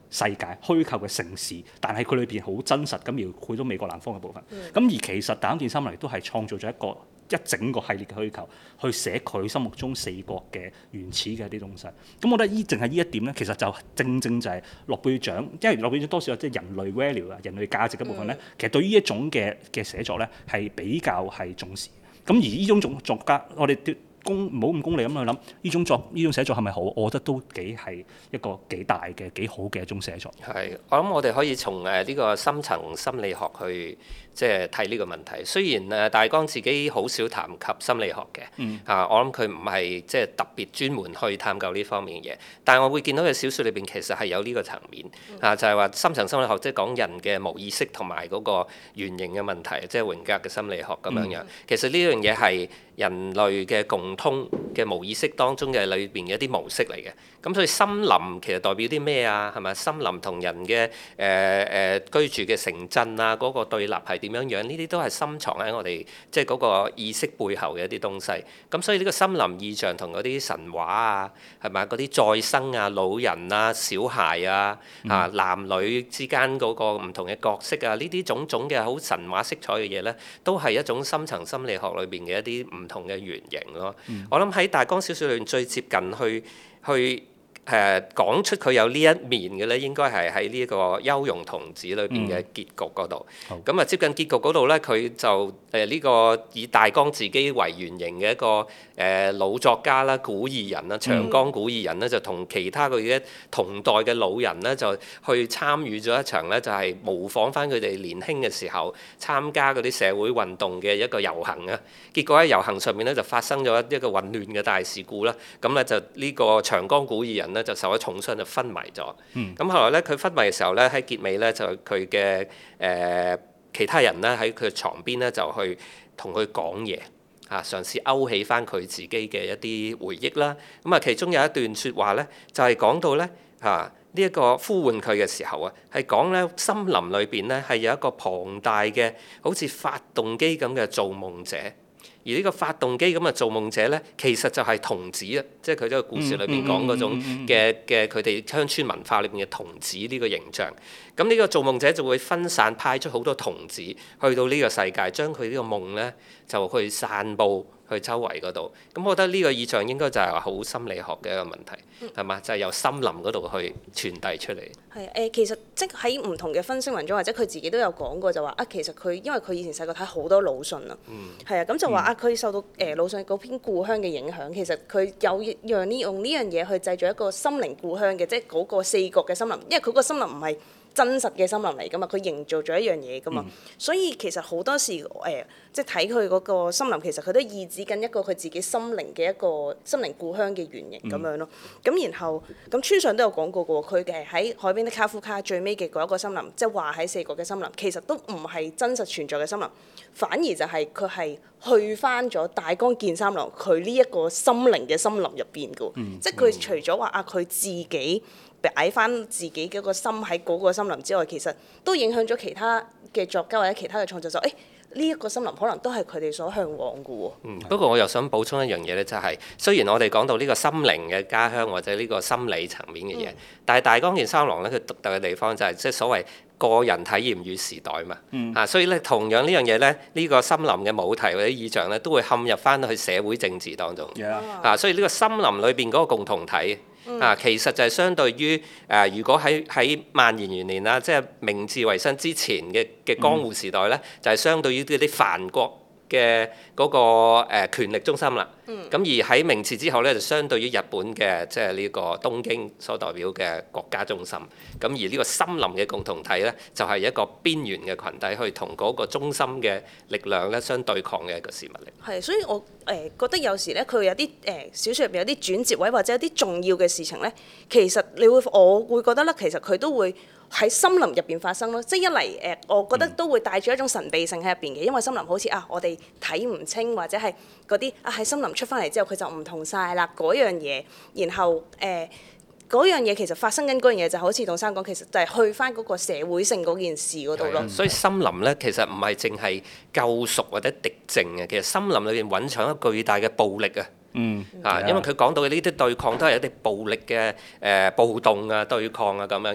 A: 世界、虛構嘅城市，但係佢裏邊好真實咁描繪到美國南方嘅部分。咁、
C: 嗯、
A: 而其實大江健三郎亦都係創造咗一個一整個系列嘅虛構，去寫佢心目中四國嘅原始嘅一啲東西。咁我覺得依淨係呢一點咧，其實就正正就係諾貝爾獎，因為諾貝爾獎多少有即係人類 value 啊、人類價值嘅部分咧，嗯、其實對於呢一種嘅嘅寫作咧係比較係重視。咁而呢種作作家，我哋功唔好咁功利咁去諗，呢種作呢種寫作係咪好？我覺得都幾係一個幾大嘅幾好嘅一種寫作。
B: 係，我諗我哋可以從誒呢個深層心理學去即係睇呢個問題。雖然誒大江自己好少談及心理學嘅，嗯、啊，我諗佢唔係即係特別專門去探究呢方面嘅嘢。但係我會見到嘅小説裏邊其實係有呢個層面，嗯、啊，就係、是、話深層心理學即係講人嘅無意識同埋嗰個原型嘅問題，即係榮格嘅心理學咁樣樣。嗯、其實呢樣嘢係人類嘅共通嘅無意識當中嘅裏邊嘅一啲模式嚟嘅。咁所以森林其實代表啲咩啊？係咪森林同人嘅誒誒居住嘅城鎮啊嗰、那個對立係點樣樣？呢啲都係深藏喺我哋即係嗰個意識背後嘅一啲東西。咁所以呢個森林意象同嗰啲神話啊，係咪嗰啲再生啊、老人啊、小孩啊、嗯、啊男女之間嗰個唔同嘅角色啊，呢啲種種嘅好神話色彩嘅嘢咧，都係一種深層心理學裏邊嘅一啲唔同嘅原型咯。嗯、我諗喺大江小説裏邊最接近去去。誒、呃、講出佢有呢一面嘅咧，應該係喺呢一個《幽容童子》裏邊嘅結局嗰度。咁啊、嗯，接近結局嗰度咧，佢就誒呢、呃這個以大江自己為原型嘅一個誒、呃、老作家啦、古異人啦、長江古異人咧，就同其他佢嘅同代嘅老人咧，就去參與咗一場咧，就係、是、模仿翻佢哋年輕嘅時候參加嗰啲社會運動嘅一個遊行啊。結果喺遊行上面咧，就發生咗一個混亂嘅大事故啦。咁咧就呢個長江古異人咧，就受咗重傷就昏迷咗。咁、嗯、後來咧，佢昏迷嘅時候咧，喺結尾咧就佢嘅誒其他人咧喺佢床邊咧就去同佢講嘢啊，嘗試勾起翻佢自己嘅一啲回憶啦。咁啊，其中有一段説話咧，就係、是、講到咧嚇呢一個呼喚佢嘅時候啊，係講咧森林裏邊咧係有一個龐大嘅好似發動機咁嘅造夢者。而呢個發動機咁嘅造夢者咧，其實就係童子啊，即係佢呢個故事裏邊講嗰種嘅嘅佢哋鄉村文化裏邊嘅童子呢個形象。咁呢個造夢者就會分散派出好多童子去到呢個世界，將佢呢個夢咧就去散佈去周圍嗰度。咁我覺得呢個意象應該就係話好心理學嘅一個問題，係嘛、嗯？就係、是、由森林嗰度去傳遞出嚟。係誒、
C: 呃，其實即係喺唔同嘅分析文章，或者佢自己都有講過，就話啊，其實佢因為佢以前細個睇好多魯迅啊，係啊、嗯，咁就話啊，佢受到誒魯迅嗰篇故鄉嘅影響，其實佢有讓呢用呢樣嘢去製造一個心靈故鄉嘅，即係嗰個四國嘅森林，因為佢個森林唔係真實嘅森林嚟噶嘛，佢營造咗一樣嘢噶嘛，嗯、所以其實好多時誒、呃，即係睇佢嗰個森林，其實佢都意指緊一個佢自己心靈嘅一個心靈故鄉嘅原型咁樣咯。咁、嗯、然後咁村上都有講過嘅喎，佢嘅喺海邊的卡夫卡最尾嘅嗰一個森林，即係話喺四國嘅森林，其實都唔係真實存在嘅森林，反而就係佢係去翻咗大江健三郎佢呢一個心靈嘅森林入邊嘅喎，嗯、即係佢除咗話啊佢自己擺翻自己嘅個心喺嗰個森林之外，其實都影響咗其他嘅作家或者其他嘅創作者。誒呢一個森林可能都係佢哋所向往嘅喎。嗯，不過我又想補充一樣嘢咧，就係、是、雖然我哋講到呢個心靈嘅家鄉或者呢個心理層面嘅嘢，嗯、但係大江健三郎咧，佢獨特嘅地方就係即係所謂個人體驗與時代嘛。嗯、啊，所以咧同樣呢樣嘢咧，呢、這個森林嘅母題或者意象咧，都會陷入翻去社會政治當中。Yeah. 啊，所以呢個森林裏邊嗰個共同體。啊，其實就係相對於誒、呃，如果喺喺萬延元年啦，即係明治維新之前嘅嘅江戶時代咧，嗯、就係相對於啲啲藩國嘅嗰、那個誒、呃、權力中心啦。咁、嗯、而喺明治之後咧，就相對於日本嘅即係呢個東京所代表嘅國家中心。咁而呢個森林嘅共同體咧，就係、是、一個邊緣嘅群體去同嗰個中心嘅力量咧相對抗嘅一個事物嚟。係，所以我誒、呃、覺得有時咧，佢有啲誒、呃、小説入邊有啲轉折位或者有啲重要嘅事情咧，其實你會我會覺得咧，其實佢都會喺森林入邊發生咯。即係一嚟誒、呃，我覺得都會帶住一種神秘性喺入邊嘅，因為森林好似啊，我哋睇唔清或者係嗰啲啊喺森林出翻嚟之後，佢就唔同晒啦嗰樣嘢。然後誒嗰、呃、樣嘢其實發生緊嗰樣嘢，就好似董生講，其實就係去翻嗰個社會性嗰件事嗰度咯。所以森林咧，其實唔係淨係救贖或者敵政嘅，其實森林裏邊蘊藏一個巨大嘅暴力啊。嗯啊，因為佢講到嘅呢啲對抗都係一啲暴力嘅誒、呃、暴動啊、對抗啊咁樣樣。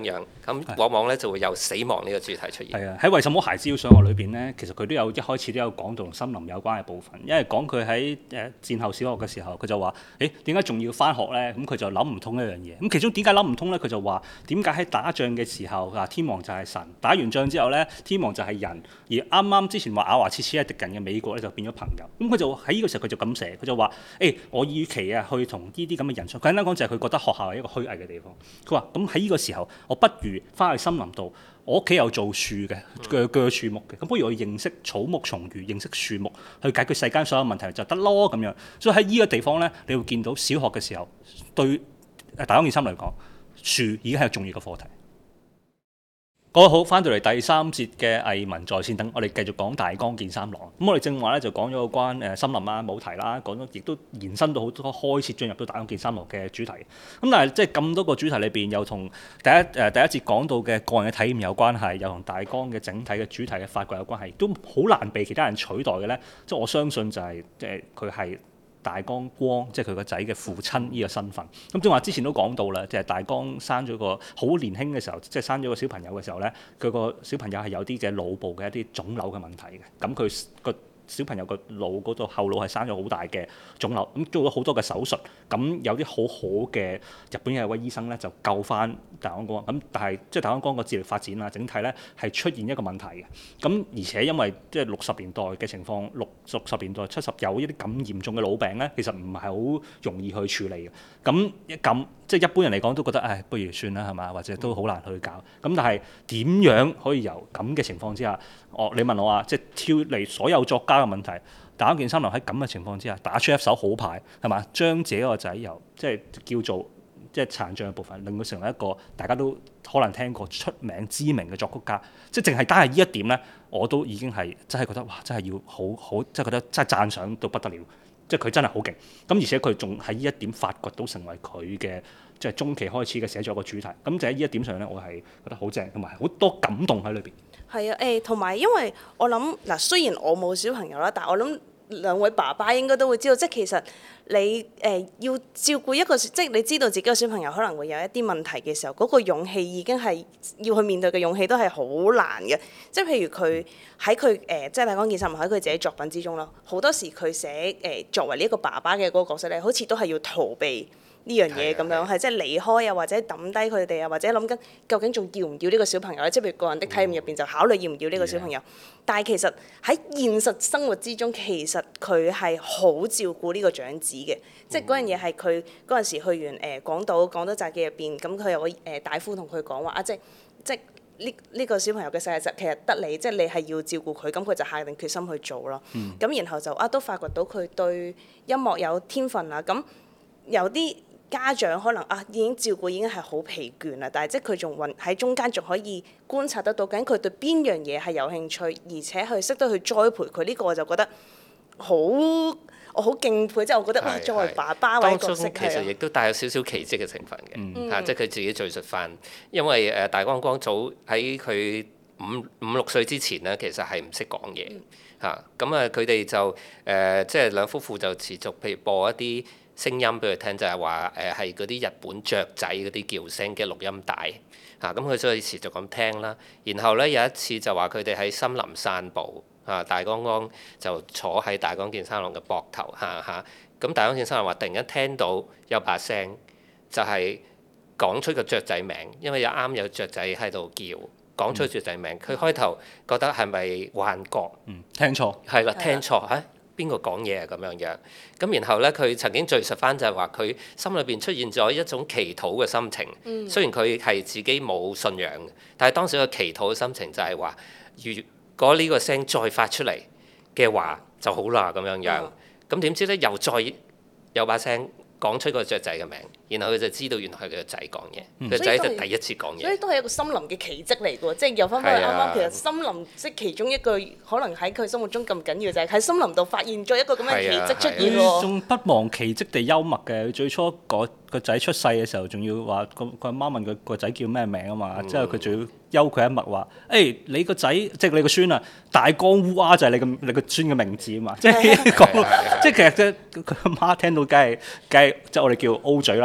B: 咁往往咧就會有死亡呢個主題出現。
A: 係啊，喺為什麼孩子要上學裏邊咧，其實佢都有一開始都有講到同森林有關嘅部分，因為講佢喺誒戰後小學嘅時候，佢就話：誒點解仲要翻學咧？咁佢就諗唔通一樣嘢。咁其中點解諗唔通咧？佢就話點解喺打仗嘅時候啊，天王就係神，打完仗之後咧，天王就係人，而啱啱之前話咬牙切齒係敵人嘅美國咧就變咗朋友。咁佢就喺呢個時候佢就咁寫，佢就話：誒我與其啊去同呢啲咁嘅人相，簡單講就係佢覺得學校係一個虛偽嘅地方。佢話：咁喺呢個時候，我不如翻去森林度。我屋企有做樹嘅，鋸鋸樹木嘅，咁不如我認識草木蟲魚，認識樹木，去解決世間所有問題就得咯咁樣。所以喺呢個地方咧，你會見到小學嘅時候，對大江健三嚟講，樹已經係一個重要嘅課題。各位好，翻到嚟第三節嘅藝文在線等，我哋繼續講大江健三郎。咁我哋正話咧就講咗個關誒森林啊、冇題啦，講咗亦都延伸到好多開始進入到大江健三郎嘅主題。咁但係即係咁多個主題裏邊，又同第一誒、呃、第一節講到嘅個人嘅體驗有關係，又同大江嘅整體嘅主題嘅發掘有關係，都好難被其他人取代嘅咧。即係我相信就係即係佢係大江光，即係佢個仔嘅父親呢個身份。咁正話之前都講到啦，即係大江生咗個好年輕嘅時候，即係生咗個小朋友嘅時候咧，佢個小朋友係有啲嘅腦部嘅一啲腫瘤嘅問題嘅。咁佢個小朋友個腦嗰度後腦係生咗好大嘅腫瘤，咁做咗好多嘅手術，咁有啲好好嘅日本嘅一位醫生咧就救翻大江光，咁但係即係大江光個智力發展啊，整體咧係出現一個問題嘅，咁而且因為即係六十年代嘅情況，六六十年代七十有一啲咁嚴重嘅腦病咧，其實唔係好容易去處理嘅，咁咁即係一般人嚟講都覺得唉，不如算啦係嘛，或者都好難去搞，咁但係點樣可以由咁嘅情況之下，我你問我啊，即係挑離所有作家嘅問題，大江健三郎喺咁嘅情況之下打出一手好牌係嘛，將自己個仔由即係叫做即係殘障嘅部分，令佢成為一個大家都可能聽過出名知名嘅作曲家，即係淨係單係呢一點咧，我都已經係真係覺得哇，真係要好好，即係覺得真係讚賞到不得了。即係佢真係好勁，咁而且佢仲喺呢一點發掘到成為佢嘅即係中期開始嘅寫作個主題，咁就喺呢一點上咧，我係覺得好正，同埋好多感動喺裏邊。
C: 係啊，誒同埋因為我諗嗱，雖然我冇小朋友啦，但係我諗兩位爸爸應該都會知道，即係其實你誒、呃、要照顧一個，即係你知道自己個小朋友可能會有一啲問題嘅時候，嗰、那個勇氣已經係要去面對嘅勇氣都係好難嘅。即係譬如佢喺佢誒，即係大江健三郎喺佢自己作品之中啦，好多時佢寫誒、呃、作為呢一個爸爸嘅嗰個角色咧，好似都係要逃避呢樣嘢咁樣，係即係離開啊，或者抌低佢哋啊，或者諗緊究竟仲要唔要呢個小朋友咧？即係譬如個人的體驗入邊就考慮要唔要呢個小朋友。嗯、但係其實喺現實生活之中，其實佢係好照顧呢個長子嘅。嗯、即係嗰樣嘢係佢嗰陣時去完誒、呃、廣島廣島札記入邊，咁佢有個誒、呃、大夫同佢講話啊，即係即係呢呢個小朋友嘅世界其實得你，即係你係要照顧佢，咁佢就下定決心去做咯。咁、嗯、然後就啊都發掘到佢對音樂有天分啊，咁有啲家長可能啊已經照顧已經係好疲倦啦，但係即係佢仲運喺中間仲可以觀察得到，究竟佢對邊樣嘢係有興趣，而且去識得去栽培佢，呢、這個我就覺得好我好敬佩，即係我覺得哇，作為爸爸或者角色
B: 其實亦都帶有少少奇蹟嘅成分嘅，
C: 嗯、
B: 啊，即係佢自己敘述翻，因為誒大江光早喺佢五五六歲之前咧，其實係唔識講嘢嚇，咁啊佢哋就誒、呃、即係兩夫婦就持續譬如播一啲聲音俾佢聽，就係話誒係嗰啲日本雀仔嗰啲叫聲嘅錄音帶嚇，咁、啊、佢所以持續咁聽啦。然後咧有一次就話佢哋喺森林散步嚇，大江光就坐喺大江健三郎嘅膊頭嚇嚇，咁、啊、大江健三郎話突然間聽到有把聲，就係講出個雀仔名，因為有啱有雀仔喺度叫，講出雀仔名。佢、嗯、開頭覺得係咪幻覺？
A: 嗯，聽錯
B: 係啦，聽錯嚇。邊個講嘢啊咁樣樣，咁然後咧佢曾經敘述翻就係話佢心裏邊出現咗一種祈禱嘅心情。嗯、雖然佢係自己冇信仰嘅，但係當時個祈禱嘅心情就係話，如果呢個聲再發出嚟嘅話就好啦咁樣樣。咁點、嗯、知咧又再有把聲講出個雀仔嘅名，然後佢就知道原來係佢個仔講嘢，佢個仔就第一次講嘢。
C: 所以都係一個森林嘅奇蹟嚟嘅喎，即係又翻返去啱啱，其實森林即係其中一句可能喺佢心目中咁緊要就係喺森林度發現咗一個咁嘅奇蹟出現喎。
A: 仲不忘奇蹟地幽默嘅，最初個個仔出世嘅時候，仲要話個個阿媽問佢個仔叫咩名啊嘛，之後佢仲要幽佢一默話：誒、欸、你個仔即係你個孫啊，大江烏鴉就係你個你個孫嘅名字啊嘛，即係講到即係其實即係佢阿媽聽到梗係梗係即係我哋叫 O 嘴啦，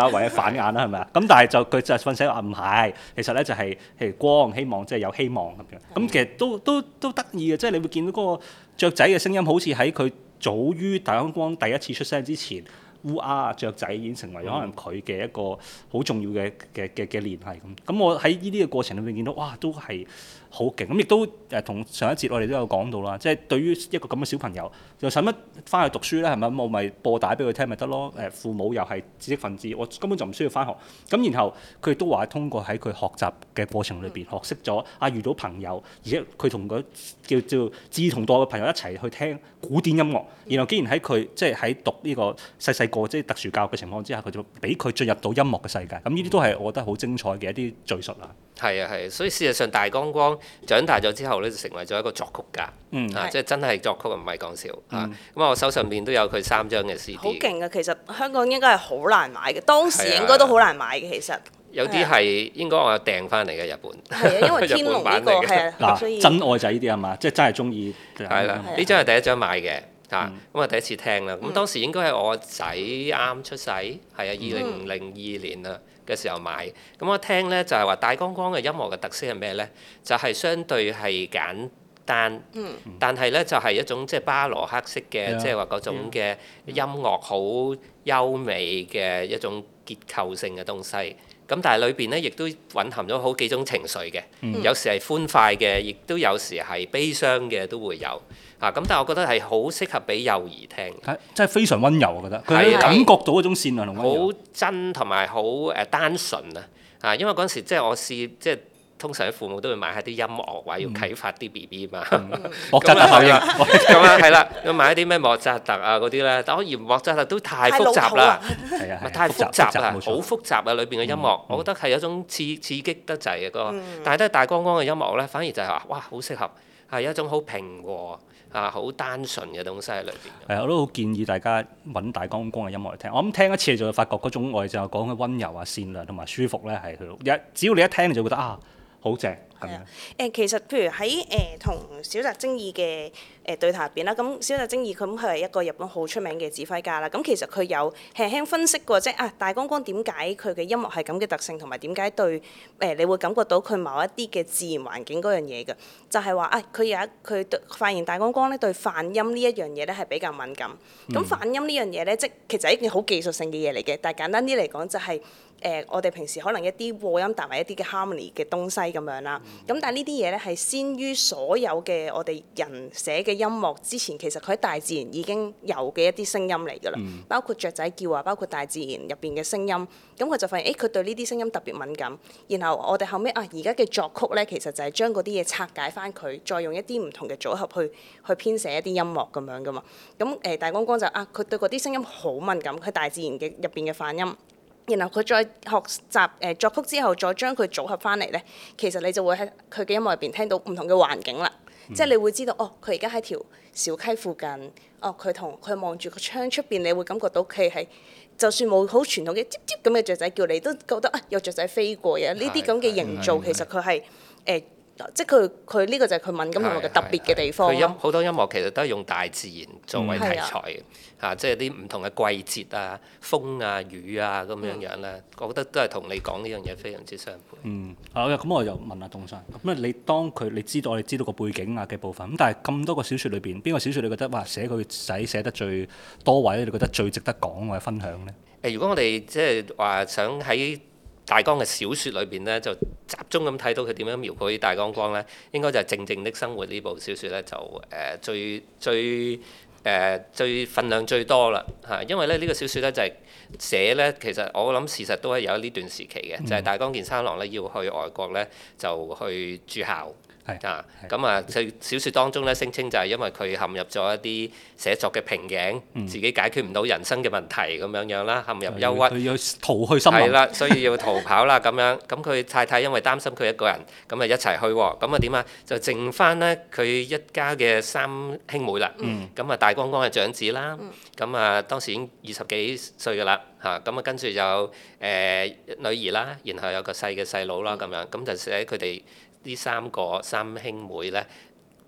A: 或者反眼啦，係咪啊？咁但係就佢就瞓醒話唔係，其實咧就係譬如光希望即係有希望咁樣。咁其實都都都得意嘅，即係你會見到嗰個雀仔嘅聲音，好似喺佢早於大光光第一次出聲之前。烏鴉啊雀仔已經成為咗可能佢嘅一個好重要嘅嘅嘅嘅聯繫咁。咁我喺呢啲嘅過程裏面見到，哇，都係好勁。咁亦都誒同上一節我哋都有講到啦，即係對於一個咁嘅小朋友，又使乜翻去讀書咧？係咪？我咪播帶俾佢聽咪得咯？誒，父母又係知識分子，我根本就唔需要翻學。咁然後佢亦都話通過喺佢學習嘅過程裏邊學識咗啊，遇到朋友，而且佢同佢叫做志同道合嘅朋友一齊去聽古典音樂。然後竟然喺佢即係喺讀呢個細細個即係特殊教育嘅情況之下，佢就俾佢進入到音樂嘅世界。咁呢啲都係我覺得好精彩嘅一啲敘述啦。
B: 係啊係，所以事實上大光光長大咗之後咧，就成為咗一個作曲家，
A: 嗯
B: 啊，
C: 係
B: 即係真係作曲唔係講笑啊。
A: 嗯
B: 咁啊，我手上邊都有佢三張嘅 C D。
C: 好勁啊！其實香港應該係好難買嘅，當時應該都好難買嘅。其實
B: 有啲係應該我有訂翻嚟嘅日本。
C: 係啊，因為天龍呢個係啊，所
A: 嗱，
C: 以
A: 真愛就係呢啲係嘛，即係真係中意。
B: 係啦，呢張係第一張買嘅。啊，咁啊第一次聽啦，咁當時應該係我仔啱出世，係啊，二零零二年啊嘅時候買，咁我聽咧就係話大光光嘅音樂嘅特色係咩咧？就係相對係簡單，但係咧就係一種即係巴羅克式嘅，即係話嗰種嘅音樂好優美嘅一種結構性嘅東西。咁但係裏邊咧，亦都蘊含咗好幾種情緒嘅，有時係歡快嘅，亦都有時係悲傷嘅，都會有啊。咁但係我覺得係好適合俾幼兒聽，
A: 係真係非常温柔，我覺得佢
B: 係啊
A: 感覺到嗰種善良同温柔。
B: 好真同埋好誒單純啊！啊，因為嗰陣時即係我試即係通常啲父母都會買下啲音樂話要啟發啲 B B 嘛，
A: 莫扎特效應，
B: 咁啊係啦，要買一啲咩莫扎特啊嗰啲咧，但我嫌莫扎特都太複雜啦。
A: 係啊，
B: 咪太複雜啦，
A: 冇錯
B: 好複雜啊！裏邊嘅音樂，我覺得係一種刺刺激得滯嘅嗰個，但係都係大光光嘅音樂咧，反而就係話，哇，好適合，係一種好平和啊、好單純嘅東西喺裏邊。
A: 係啊，我都好建議大家揾大光光嘅音樂嚟聽。我諗聽一次你就會發覺嗰種我哋就講嘅温柔啊、善良同埋舒服咧，係佢一只要你一聽你就覺得啊，好正咁樣。
C: 誒其實譬如喺誒同小澤征爾嘅誒對談入邊啦，咁小澤征爾咁佢係一個日本好出名嘅指揮家啦。咁其實佢有輕輕分析過，即係啊大光光點解佢嘅音樂係咁嘅特性，同埋點解對誒、呃、你會感覺到佢某一啲嘅自然環境嗰樣嘢嘅，就係話啊佢有一佢對發現大光光咧對泛音呢一樣嘢咧係比較敏感。咁泛音呢樣嘢咧，即其實係一件好技術性嘅嘢嚟嘅，但係簡單啲嚟講就係、是。誒、呃，我哋平時可能一啲和音搭埋一啲嘅 harmony 嘅東西咁樣啦。咁、嗯、但係呢啲嘢咧係先於所有嘅我哋人寫嘅音樂之前，其實佢喺大自然已經有嘅一啲聲音嚟㗎啦。嗯、包括雀仔叫啊，包括大自然入邊嘅聲音。咁、嗯、佢就發現，誒佢對呢啲聲音特別敏感。然後我哋後尾啊，而家嘅作曲咧，其實就係將嗰啲嘢拆解翻佢，再用一啲唔同嘅組合去去編寫一啲音樂咁樣㗎嘛。咁、嗯、誒、呃、大光光就啊，佢對嗰啲聲音好敏感，佢大自然嘅入邊嘅泛音。然後佢再學習誒、呃、作曲之後，再將佢組合翻嚟咧，其實你就會喺佢嘅音樂入邊聽到唔同嘅環境啦。嗯、即係你會知道，哦，佢而家喺條小溪附近，哦，佢同佢望住個窗出邊，你會感覺到佢係就算冇好傳統嘅吱吱咁嘅雀仔叫，你都覺得啊有雀仔飛過嘅。呢啲咁嘅營造其實佢係誒。即係佢佢呢個就係佢敏感同埋嘅特別嘅地方。
B: 佢音好多音樂其實都係用大自然作為題材嘅，嚇、嗯啊，即係啲唔同嘅季節啊、風啊、雨啊咁樣樣咧，嗯、我覺得都係同你講呢樣嘢非常之相配。
A: 嗯，好嘅，咁我就問下東山，咁你當佢你知道我哋知道個背景啊嘅部分，咁但係咁多個小説裏邊，邊個小説你覺得哇寫佢仔寫得最多位，你覺得最值得講或者分享咧？
B: 誒，如果我哋即係話想喺大光嘅小説裏邊咧，就集中咁睇到佢點樣描繪大光光咧，應該就係《靜靜的生活》呢部小説咧，就誒、呃、最最誒、呃、最份量最多啦嚇，因為咧呢、這個小説咧就係、是、寫咧，其實我諗事實都係有呢段時期嘅，嗯、就係大岡健三郎咧要去外國咧就去駐校。啊，咁啊，佢小説當中咧聲稱就係因為佢陷入咗一啲寫作嘅瓶頸，嗯、自己解決唔到人生嘅問題咁樣樣啦，陷入憂鬱，
A: 佢要逃去森林，
B: 係啦，所以要逃跑啦咁樣。咁佢太太因為擔心佢一個人，咁啊一齊去喎。咁啊點啊？就剩翻咧佢一家嘅三兄妹啦。咁啊、嗯、大光光係長子啦。咁、嗯、啊當時已經二十幾歲㗎啦。嚇咁啊跟住就誒、呃、女兒啦，然後有個細嘅細佬啦咁樣。咁就寫佢哋。呢三個三兄妹咧，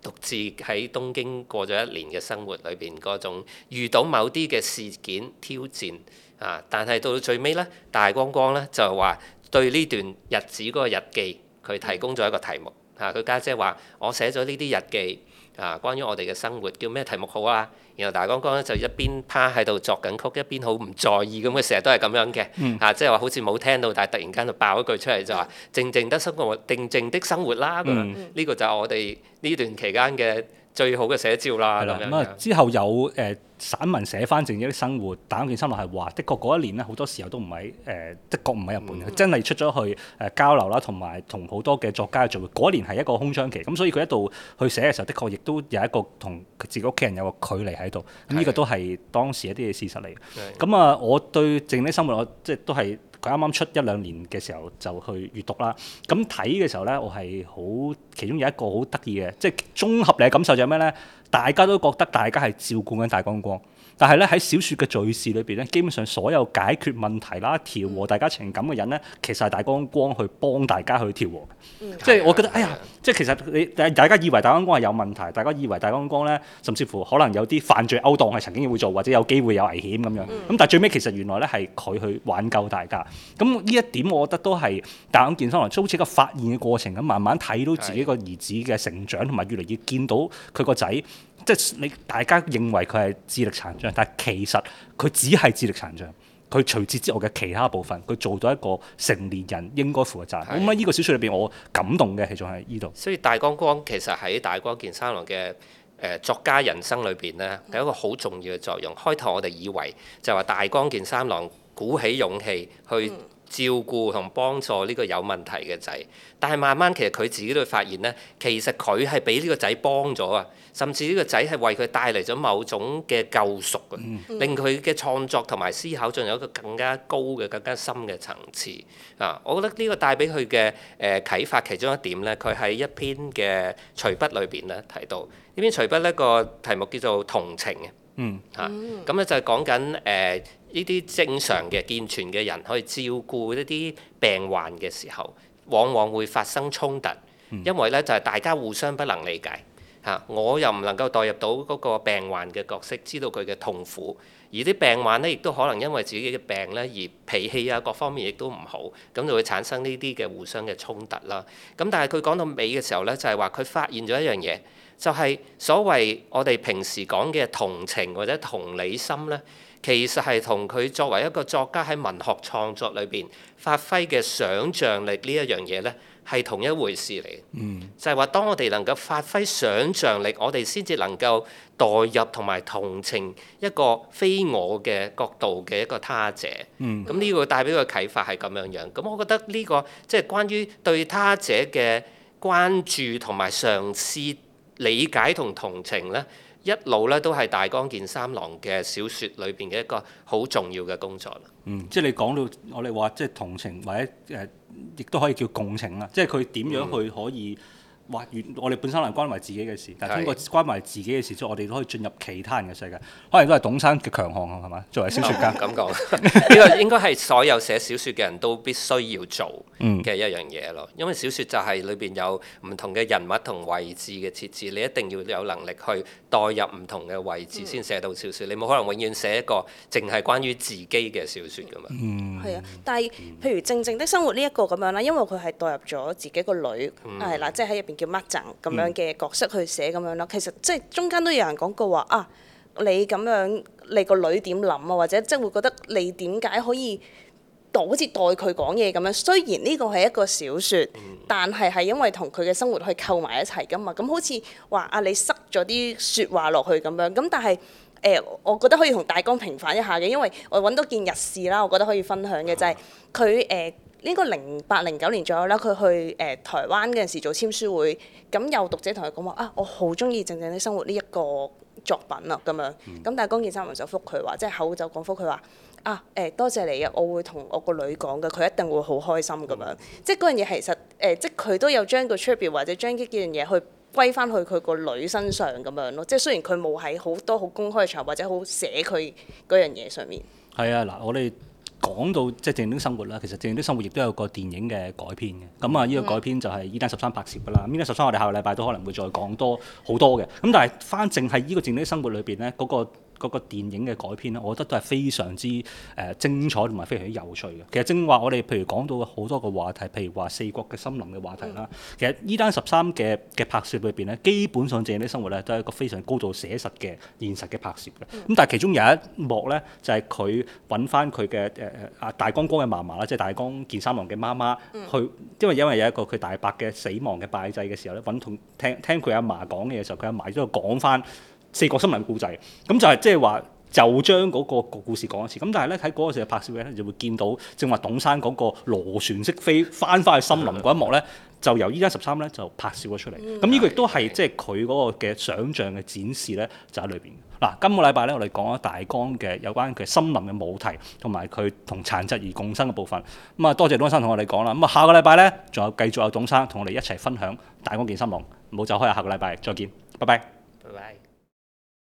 B: 獨自喺東京過咗一年嘅生活裏邊嗰種遇到某啲嘅事件挑戰啊，但係到最尾咧，大光光咧就話對呢段日子嗰個日記，佢提供咗一個題目嚇。佢家姐話：我寫咗呢啲日記啊，關於我哋嘅生活，叫咩題目好啊？然後大光光咧就一邊趴喺度作緊曲，一邊好唔在意咁，佢成日都係咁樣嘅嚇、嗯啊，即係話好似冇聽到，但係突然間就爆一句出嚟就話：靜靜的生活，靜靜的生活啦咁樣。呢、嗯、個就係我哋呢段期間嘅最好嘅寫照啦。咁樣
A: 咁啊，之後有誒、呃、散文寫翻靜靜的生活，大岡健三郎係話，的確嗰一年咧好多時候都唔喺誒，的確唔喺日本嘅，佢、嗯、真係出咗去誒交流啦，同埋同好多嘅作家做。嗰一年係一個空窗期，咁所以佢一度去寫嘅時候，的確亦都有一個同自己屋企人有個距離喺度。咁呢個都係當時一啲嘅事實嚟。咁啊，我對靜靜的生活，我即係都係佢啱啱出一兩年嘅時候就去閱讀啦。咁睇嘅時候咧，我係好其中有一個好得意嘅，即係綜合你嘅感受就係咩咧？大家都覺得大家係照顧緊大光光，但係咧喺小説嘅敘事裏邊咧，基本上所有解決問題啦、調和大家情感嘅人咧，其實係大光光去幫大家去調和嘅。嗯、即係我覺得，哎呀，即係其實你大家以為大光光係有問題，大家以為大光光咧，甚至乎可能有啲犯罪勾當係曾經會做，或者有機會有危險咁樣。咁、嗯、但係最尾其實原來咧係佢去挽救大家。咁呢一點我覺得都係大岡健三郎好似一個發現嘅過程咁，慢慢睇到自己個兒子嘅成長，同埋越嚟越見到佢個仔。即係你大家認為佢係智力殘障，但係其實佢只係智力殘障。佢除此之外嘅其他部分，佢做到一個成年人應該負嘅責任。咁喺呢個小説裏邊，我感動嘅其實係呢度。
B: 所以大光光其實喺大岡健三郎嘅誒、呃、作家人生裏邊咧，係一個好重要嘅作用。開頭我哋以為就話大岡健三郎鼓起勇氣去照顧同幫助呢個有問題嘅仔，但係慢慢其實佢自己都會發現咧，其實佢係俾呢個仔幫咗啊，甚至呢個仔係為佢帶嚟咗某種嘅救贖啊，嗯、令佢嘅創作同埋思考進入一個更加高嘅、更加深嘅層次啊！我覺得呢個帶俾佢嘅誒啟發其中一點咧，佢喺一篇嘅隨筆裏邊咧提到，呢篇隨筆呢個題目叫做同情嘅。嗯嚇，咁咧、啊、就係講緊誒呢啲正常嘅健全嘅人去照顧一啲病患嘅時候，往往會發生衝突，嗯、因為咧就係、是、大家互相不能理解嚇、啊，我又唔能夠代入到嗰個病患嘅角色，知道佢嘅痛苦，而啲病患咧亦都可能因為自己嘅病咧而脾氣啊各方面亦都唔好，咁就會產生呢啲嘅互相嘅衝突啦。咁但係佢講到尾嘅時候咧，就係話佢發現咗一樣嘢。就係所謂我哋平時講嘅同情或者同理心咧，其實係同佢作為一個作家喺文學創作裏邊發揮嘅想像力呢一樣嘢咧，係同一回事嚟。嗯，就係話當我哋能夠發揮想像力，我哋先至能夠代入同埋同情一個非我嘅角度嘅一個他者。嗯，咁呢個帶俾佢啟發係咁樣樣。咁我覺得呢個即係關於對他者嘅關注同埋嘗試理解同同情咧，一路咧都係大岡健三郎嘅小説裏邊嘅一個好重要嘅工作啦。
A: 嗯，即係你講到我哋話即係同情或者誒，亦、呃、都可以叫共情啦。即係佢點樣去可以話，越、嗯、我哋本身係關懷自己嘅事，但係通過關懷自己嘅事之後，我哋都可以進入其他人嘅世界。可能都係董生嘅強項啊，係嘛？作為小説家
B: 咁講，呢個應該係所有寫小説嘅人都必須要做嘅一樣嘢咯。因為小説就係裏邊有唔同嘅人物同位置嘅設置，你一定要有能力去代入唔同嘅位置先寫到小説。嗯、你冇可能永遠寫一個淨係關於自己嘅小説㗎嘛。嗯，
C: 係啊，但係譬如靜靜的生活呢一個咁樣啦，因為佢係代入咗自己個女係啦，即係喺入邊叫乜陣咁樣嘅角色去寫咁樣啦。其實即係中間都有人講過話啊。你咁樣，你個女點諗啊？或者即係會覺得你點解可以好似代佢講嘢咁樣？雖然呢個係一個小説，但係係因為同佢嘅生活去扣埋一齊噶嘛。咁好似話啊，你塞咗啲説話落去咁樣。咁但係誒、呃，我覺得可以同大綱平反一下嘅，因為我揾到件日事啦，我覺得可以分享嘅就係佢誒呢個零八零九年左右啦，佢去誒、呃、台灣嗰陣時做簽書會，咁有讀者同佢講話啊，我好中意靜靜的生活呢一個作品啊，咁樣，咁、嗯、但係岡健三郎就覆佢話，即係口就講覆佢話啊，誒、欸、多謝你啊，我會同我個女講嘅，佢一定會好開心咁樣，即係嗰樣嘢其實誒、呃，即係佢都有將個 tribute 或者將呢幾樣嘢去歸翻去佢個女身上咁樣咯，即係雖然佢冇喺好多好公開嘅場合或者好寫佢嗰樣嘢上面。
A: 係啊，嗱，我哋講到即係正經生活啦，其實正經生活亦都有個電影嘅改編嘅。咁啊，呢個改編就係《伊丹十三》拍攝㗎啦。《伊丹十三》我哋下個禮拜都可能會再講多好多嘅。咁但係翻淨係呢個正經生活裏邊咧，嗰、嗰個嗰個電影嘅改編咧，我覺得都係非常之誒、呃、精彩同埋非常之有趣嘅。其實正話我哋譬如講到好多個話題，譬如話四國嘅森林嘅話題啦。嗯、其實《伊丹十三》嘅嘅拍攝裏邊咧，基本上正經生活咧都係一個非常高度寫實嘅現實嘅拍攝嘅。咁、嗯、但係其中有一幕咧，就係佢揾翻佢嘅誒誒阿大江哥嘅嫲嫲啦，即係大江健三郎嘅媽媽、嗯、去，因為因為有一個佢大伯嘅死亡嘅拜祭嘅時候咧，揾同聽聽佢阿嫲講嘅時候，佢阿嫲都講翻四國森林故仔，咁就係即係話就將嗰個故事講一次。咁但係咧喺嗰個時候拍攝嘅咧，就會見到正話董生嗰個螺旋式飛翻返去森林嗰一幕咧，就由伊丹十三咧就拍攝咗出嚟。咁呢、嗯、個亦都係即係佢嗰個嘅想像嘅展示咧，就喺裏邊。嗱，今個禮拜咧我哋講咗大江嘅有關佢森林嘅母題同埋佢同殘疾而共生嘅部分。咁啊，多謝董生同我哋講啦。咁啊，下個禮拜咧仲有繼續有董生同我哋一齊分享大江健三郎。唔好走開啊！下個禮拜再見，拜拜。
B: 拜拜。